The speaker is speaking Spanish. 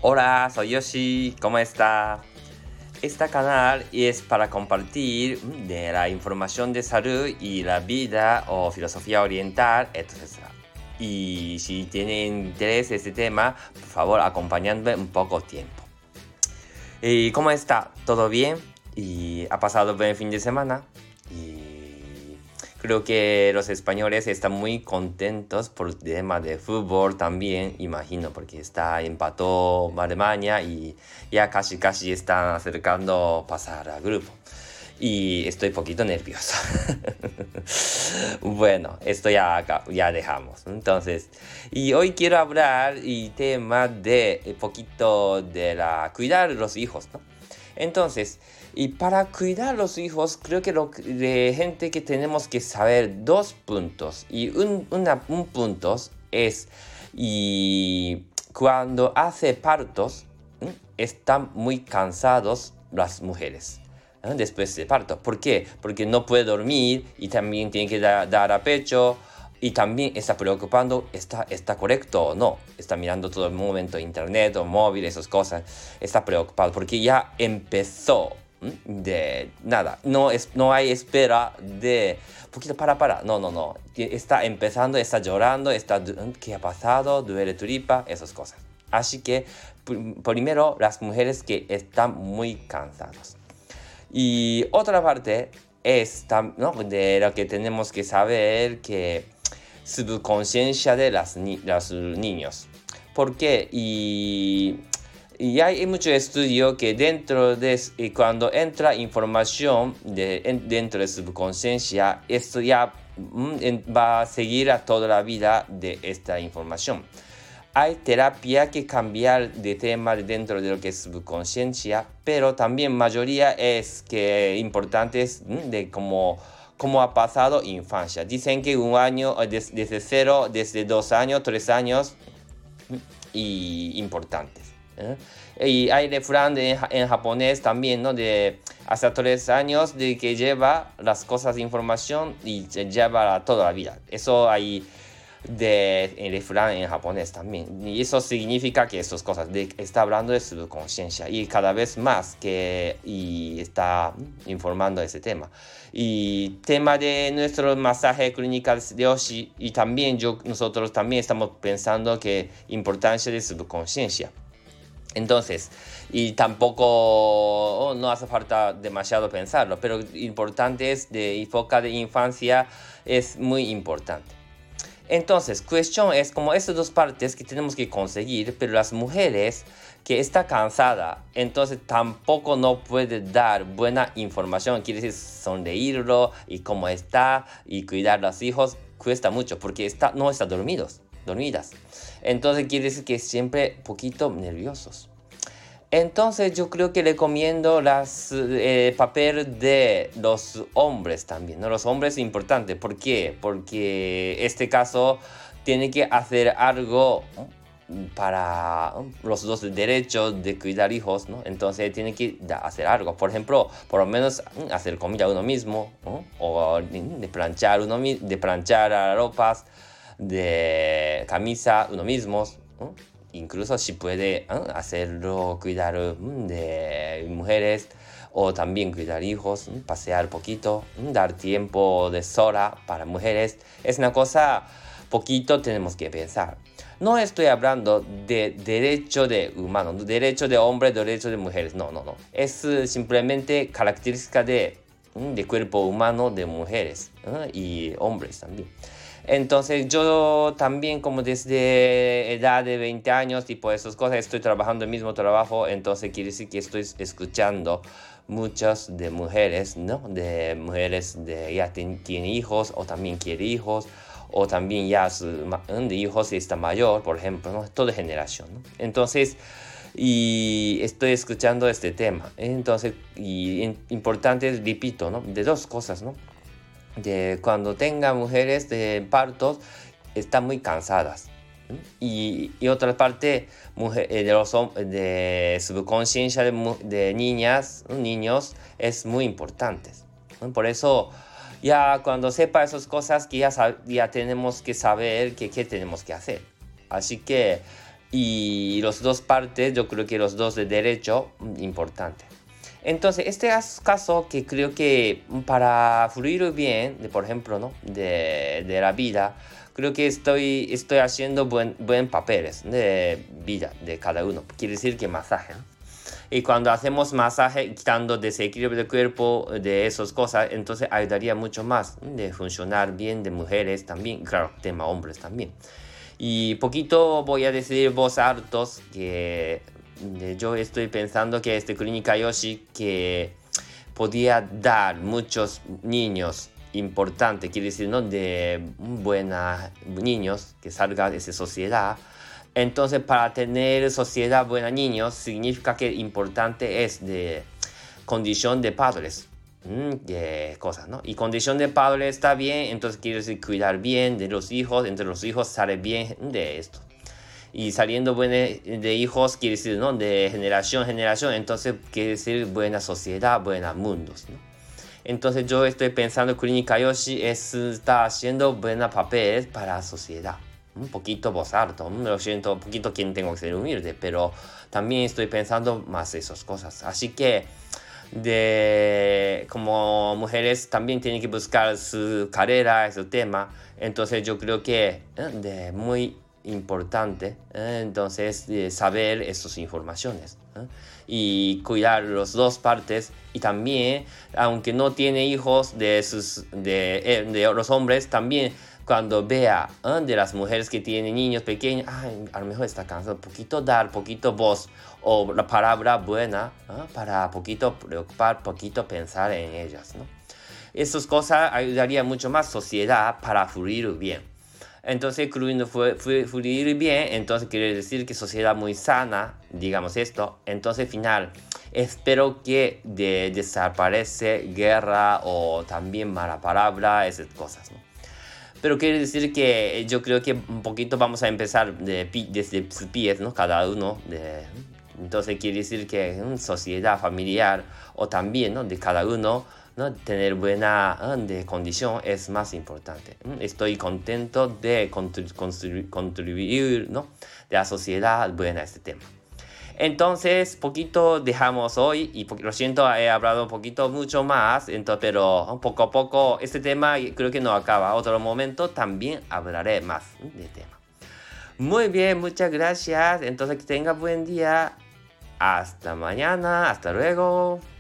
Hola, soy Yoshi, ¿cómo está? Este canal es para compartir de la información de salud y la vida o filosofía oriental, etc. Y si tienen interés en este tema, por favor, acompañadme un poco tiempo. ¿Y cómo está? ¿Todo bien? ¿Y ha pasado buen fin de semana? Y creo que los españoles están muy contentos por el tema de fútbol también, imagino, porque empató Alemania y ya casi están acercando a pasar al grupo. Y estoy un poquito nervioso. Bueno, esto ya dejamos. Entonces, y hoy quiero hablar y tema de un poquito de cuidar los hijos, ¿no? Entonces, y para cuidar los hijos, creo que de gente que tenemos que saber dos puntos. Y un punto es, y cuando hace partos, están muy cansados las mujeres después del parto. ¿Por qué? Porque no puede dormir y también tiene que dar a pecho y también está preocupando, ¿está correcto o no? Está mirando todo el momento internet o móvil, esas cosas. Está preocupado porque ya empezó de nada. No hay espera de poquito para. No. Está empezando, está llorando, ¿qué ha pasado? Duele tripa, esas cosas. Así que primero las mujeres que están muy cansadas. Y otra parte es, ¿no?, de lo que tenemos que saber, que subconsciencia de los niños. ¿Por qué? Y hay mucho estudio que cuando entra información dentro de subconsciencia, esto ya va a seguir a toda la vida de esta información. Hay terapia que cambiar de tema dentro de lo que es subconsciencia, pero también mayoría es que importantes de cómo ha pasado infancia. Dicen que un año, desde 0, desde 2 años, 3 años, y importantes. Y hay refrán en japonés también, ¿no?, de hasta 3 años de que lleva las cosas de información y lleva toda la vida. Eso hay en refrán en japonés también, y eso significa que esas cosas está hablando de subconsciencia y cada vez más y está informando ese tema y tema de nuestro masaje clínico de Yoshi, y también nosotros también estamos pensando que importancia de subconsciencia. Entonces, y tampoco no hace falta demasiado pensarlo, pero importante es de época de infancia, es muy importante. Entonces, cuestión es como estas dos partes que tenemos que conseguir, pero las mujeres que está cansada, entonces tampoco no puede dar buena información, quiere decir sonreírlo y cómo está y cuidar a los hijos, cuesta mucho porque no están dormidas. Entonces quiere decir que siempre poquito nerviosos. Entonces yo creo que recomiendo papel de los hombres también, ¿no? Los hombres es importante. ¿Por qué? Porque este caso tiene que hacer algo para los dos derechos de cuidar hijos, ¿no? Entonces tiene que hacer algo. Por ejemplo, por lo menos hacer comida uno mismo, ¿no? O de planchar las ropas, de camisa uno mismo, ¿no? Incluso si puede hacerlo, cuidar de mujeres o también cuidar hijos, pasear poquito, dar tiempo de sola para mujeres. Es una cosa poquito tenemos que pensar. No estoy hablando de derecho de humanos, derecho de hombres, derecho de mujeres. No. Es simplemente característica de cuerpo humano de mujeres y hombres también. Entonces yo también, como desde edad de 20 años, tipo esas cosas, estoy trabajando el mismo trabajo, entonces quiere decir que estoy escuchando muchas de mujeres, ¿no? De mujeres de ya tienen hijos o también quiere hijos, o también ya de hijos y está mayor, por ejemplo, ¿no? Toda generación, ¿no? Entonces, y estoy escuchando este tema. Entonces, importante, repito, ¿no?, de dos cosas, ¿no? De cuando tenga mujeres de partos, están muy cansadas. Y otra parte, de subconsciencia de niños es muy importante. Por eso, ya cuando sepa esas cosas, que ya tenemos que saber qué tenemos que hacer. Así que y los dos partes, yo creo que los dos de derecho, importante. Entonces, este caso que creo que para fluir bien, por ejemplo, ¿no? de la vida, creo que estoy haciendo buen papeles de vida de cada uno. Quiere decir que masaje, ¿no? Y cuando hacemos masaje, quitando desequilibrio del cuerpo, de esas cosas, entonces ayudaría mucho más de funcionar bien de mujeres también, claro, tema hombres también. Y poquito voy a decir voz altos que yo estoy pensando que Clínica Yoshi que podía dar muchos niños importantes, quiere decir, ¿no? De buenos niños que salgan de esa sociedad. Entonces, para tener sociedad buena niños, significa que importante es de condición de padres. De cosas, ¿no? Y condición de padre está bien, entonces quiere decir cuidar bien de los hijos, entre los hijos sale bien de esto. Y saliendo de hijos quiere decir, ¿no? De generación en generación, entonces quiere decir buena sociedad, buenos mundos, ¿no? Entonces yo estoy pensando Clínica Yoshi está haciendo buenos papeles para la sociedad. Un poquito voz alto, lo siento, un poquito quien tengo que ser humilde, pero también estoy pensando más esas cosas. Así que como mujeres también tienen que buscar su carrera, su tema. Entonces yo creo que de muy importante entonces saber esas informaciones y cuidar las dos partes. Y también, aunque no tiene hijos de los hombres, también cuando vea de las mujeres que tienen niños pequeños, a lo mejor está cansado, poquito voz o la palabra buena para poquito preocupar, poquito pensar en ellas, ¿no? Esas cosas ayudarían mucho más sociedad para fluir bien. Entonces, fluir bien, entonces quiere decir que sociedad muy sana, digamos esto. Entonces, final, espero que desaparece guerra o también mala palabra, esas cosas, ¿no? Pero quiere decir que yo creo que un poquito vamos a empezar desde sus pies, ¿no? Cada uno. Entonces quiere decir que sociedad familiar o también, ¿no? De cada uno, ¿no? Tener buena de condición es más importante. Estoy contento de contribuir, ¿no? De la sociedad buena a este tema. Entonces, poquito dejamos hoy y lo siento, he hablado un poquito mucho más, pero poco a poco este tema creo que no acaba. Otro momento también hablaré más de tema. Muy bien, muchas gracias. Entonces, que tenga buen día. Hasta mañana, hasta luego.